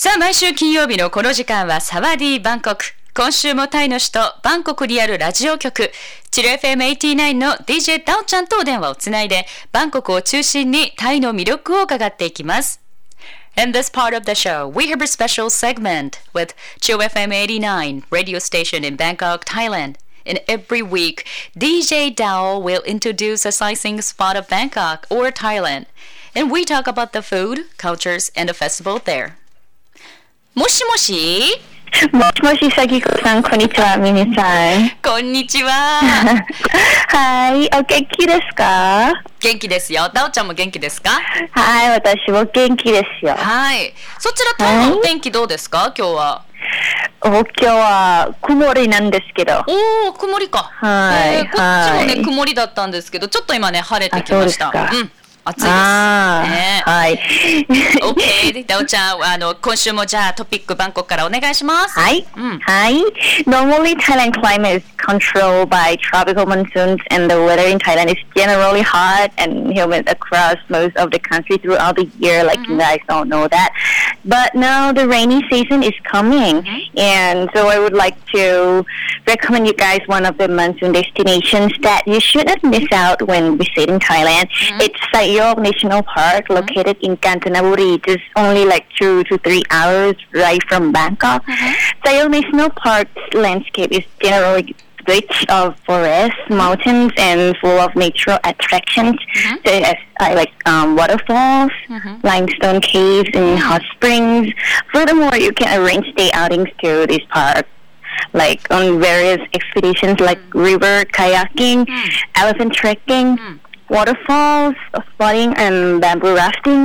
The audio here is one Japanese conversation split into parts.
さあ、毎週金曜日のこの時間はサワディーバンコク。今週もタイの首都バンコクにあるラジオ局チル FM89 の DJ ダオちゃんとお電話をつないで、バンコクを中心にタイの魅力を伺っていきます。In this part of the show, we have a special segment with Chill FM89 radio station in Bangkok, Thailand. And every week, DJ Dao will introduce a sightseeing spot of Bangkok or Thailand. And we talk about the food, cultures, and the festival there. もしもしもしもし、さきこさん、こんにちは、みみさん。 こんにちは。 はい、お元気ですか？ 元気ですよ。ダオちゃんも元気ですか？ はい、私も元気ですよ。 はい。そちらタイのお天気どうですか？今日は。 今日は曇りなんですけど。 おー、曇りか。 はい。 こっちもね、曇りだったんですけど、ちょっと今ね、晴れてきました。 そうですか。 うん。暑いです、ね、 はい。 OK。ダオちゃん、今週もじゃあトピックバンコクからお願いします。 はい。はい。Normally, Thailand climate is controlled by tropical monsoons, and the weather in Thailand is generally hot and humid across most of the country throughout the year. Like you guys don't know that, but now the rainy season is coming, and so I would like to recommend you guys one of the monsoon destinations that you should not miss out when visiting Thailand. It's Sayok National Park, located in Kanchanaburi, just only like 2 to 3 hours right from Bangkok. Sayok National Park's landscape is generally rich of forests, mountains, and full of natural attractions, such as waterfalls, limestone caves, and hot springs. Furthermore, you can arrange day outings to this park, like on various expeditions like river kayaking, elephant trekking, waterfalls, spotting, and bamboo rafting.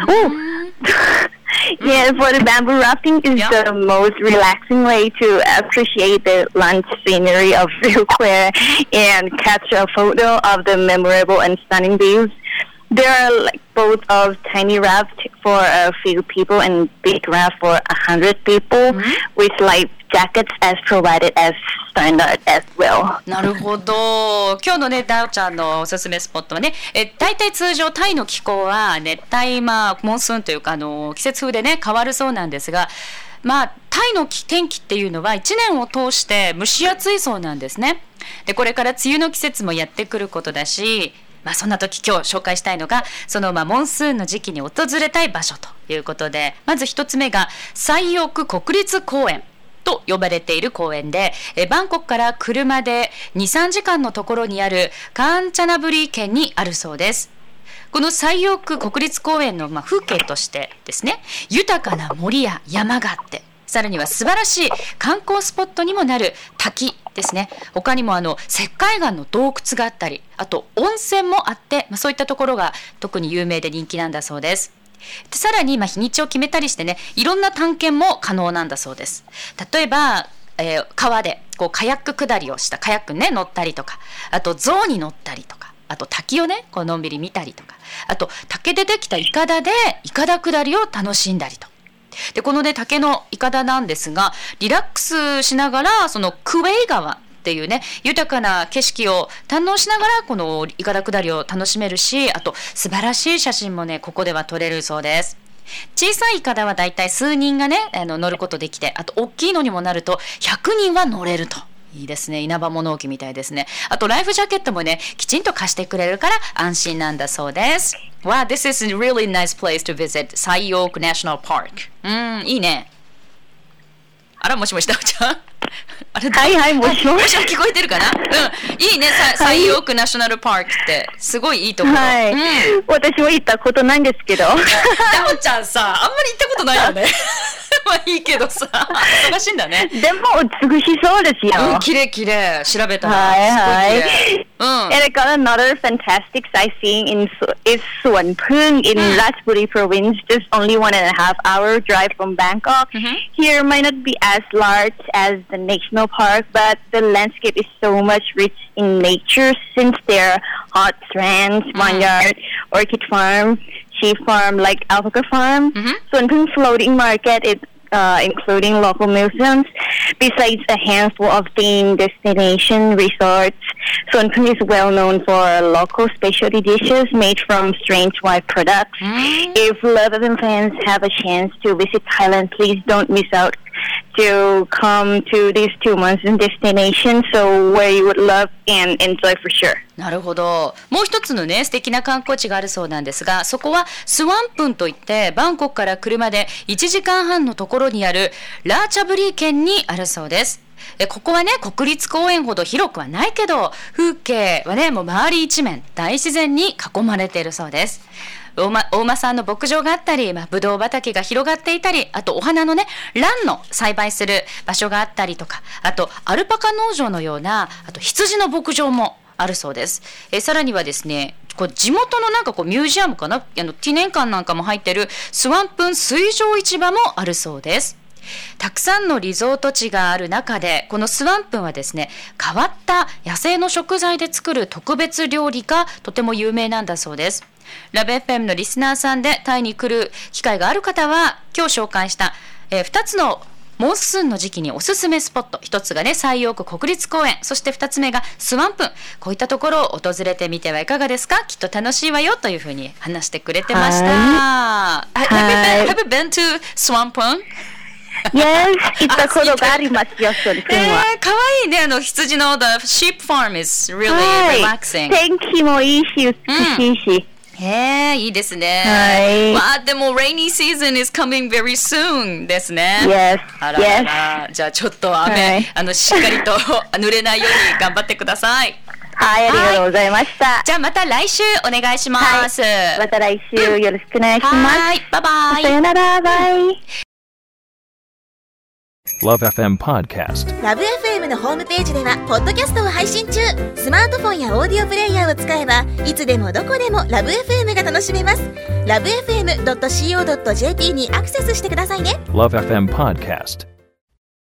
Yeah, for the bamboo rafting is the most relaxing way to appreciate the lush scenery of Rio Clare and capture a photo of the memorable and stunning views. There are like both of tiny raft for a few people and big raft for 100 people, with life jackets as provided as standard as well. なるほど。今日のね、ダオちゃんのおすすめスポットはね、大体通常タイの気候は熱帯、モンスーンというか季節風でね変わるそうなんですが、タイの天気っていうのは1年を通して蒸し暑いそうなんですね。で、これから梅雨の季節もやってくることだし、そんな時今日紹介したいのがそのモンスーンの時期に訪れたい場所ということで、まず一つ目がサイオク国立公園と呼ばれている公園で、バンコクから車で 2,3 時間のところにあるカンチャナブリー県にあるそうです。このサイオク国立公園の風景としてですね、豊かな森や山があって、さらには素晴らしい観光スポットにもなる滝ですね。他にも石灰岩の洞窟があったり、あと温泉もあって、そういったところが特に有名で人気なんだそうです。で、さらに日にちを決めたりしてね、いろんな探検も可能なんだそうです。例えば、川でカヤック下りをしたカヤックね乗ったりとか、あと象に乗ったりとか、あと滝をねのんびり見たりとか、あと竹でできたイカダでイカダ下りを楽しんだりと。で、このね竹のイカダなんですが、リラックスしながらそのクウェイ川っていうね豊かな景色を堪能しながらこのイカダ下りを楽しめるし、あと素晴らしい写真もねここでは撮れるそうです。小さいイカダはだいたい数人がね乗ることできて、あと大きいのにもなると100人は乗れると。いいですね。稲葉物置みたいですね。あとライフジャケットもねきちんと貸してくれるから安心なんだそうです。Wow, this is a really nice place to visit, Sayok National Park. いいね。あら、もしもし、ダオちゃんあれ、 はいはい、もしもし。 聞こえてるかな？いいね、サイオークナショナルパークってすごいいいところ。 はい。私も行ったことないんですけど。ダオちゃんさ、あんまり行ったことないよね。いいけどさ、忙しいんだね。 でも美しそうですよ。 綺麗綺麗。調べたらはいはい。 And I got another fantastic sightseeing is Suan Phung in Ratchaburi province, just only 1.5 hour drive from Bangkok. Here might not be as large as the national park, but the landscape is so much rich in nature since there are hot strands, vineyard, orchid farm, sheep farm, like alpaca farm. Suan Phung floating market is including local museums, besides a handful of themed destination resorts. Suanpun is well known for local specialty dishes made from strange white products. If Love FM fans have a chance to visit Thailand, please don't miss out to come to these 2 months in destination, so where you would love and enjoy for sure. なるほど。もう一つのね素敵な観光地があるそうなんですが、そこはスワンプンといってバンコクから車で1時間半のところにあるラーチャブリー県にあるそうです。ここはね国立公園ほど広くはないけど、風景はねもう周り一面大自然に囲まれているそうです。大間産の牧場があったり、ブドウ畑が広がっていたり、あとお花のねランの栽培する場所があったりとか、あとアルパカ農場のような、あと羊の牧場もあるそうです。さらにはですね、こう地元のなんかこうミュージアムかな、記念館なんかも入ってるスワンプン水上市場もあるそうです。たくさんのリゾート地がある中で、このスワンプンはですね変わった野生の食材で作る特別料理がとても有名なんだそうです。ラブ FM のリスナーさんでタイに来る機会がある方は、今日紹介した、2つのモンスーンの時期におすすめスポット、1つがね最陽区国立公園、そして2つ目がスワンプン、こういったところを訪れてみてはいかがですか。きっと楽しいわよというふうに話してくれてました。Have you been to Swampun?Yes, 行ったことがありますよ、それは。 かわいいね、羊の The sheep farm is really relaxing. 天気もいいし、美しいし。 いいですね。わあ、でも rainy season is coming very soon ですね。 Yes. あらあら、じゃあちょっと雨、しっかりと濡れないように頑張ってください。 はい、ありがとうございました。 じゃあまた来週お願いします。 また来週よろしくお願いします。 はい、バイバイ。 さよなら、バイ。 Love FM Podcast。 ラブ FM のホームページではポッドキャストを配信中。スマートフォンやオーディオプレイヤーを使えばいつでもどこでもラブ FM が楽しめます。ラブ FM.co.jp にアクセスしてくださいね。 Love FM Podcast